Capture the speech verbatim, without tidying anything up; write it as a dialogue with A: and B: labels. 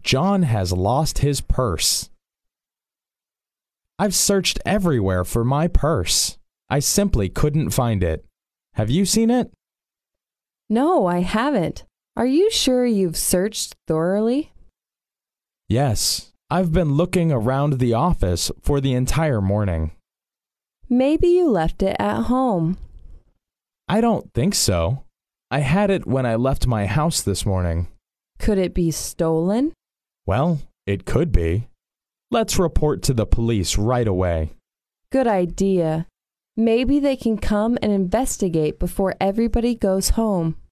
A: John has lost his purse. I've searched everywhere for my purse. I simply couldn't find it. Have you seen it?
B: No, I haven't. Are you sure you've searched thoroughly?
A: Yes, I've been looking around the office for the entire morning.
B: Maybe you left it at home.
A: I don't think so. I had it when I left my house this morning.
B: Could it be stolen?
A: Well, it could be. Let's report to the police right away.
B: Good idea. Maybe they can come and investigate before everybody goes home.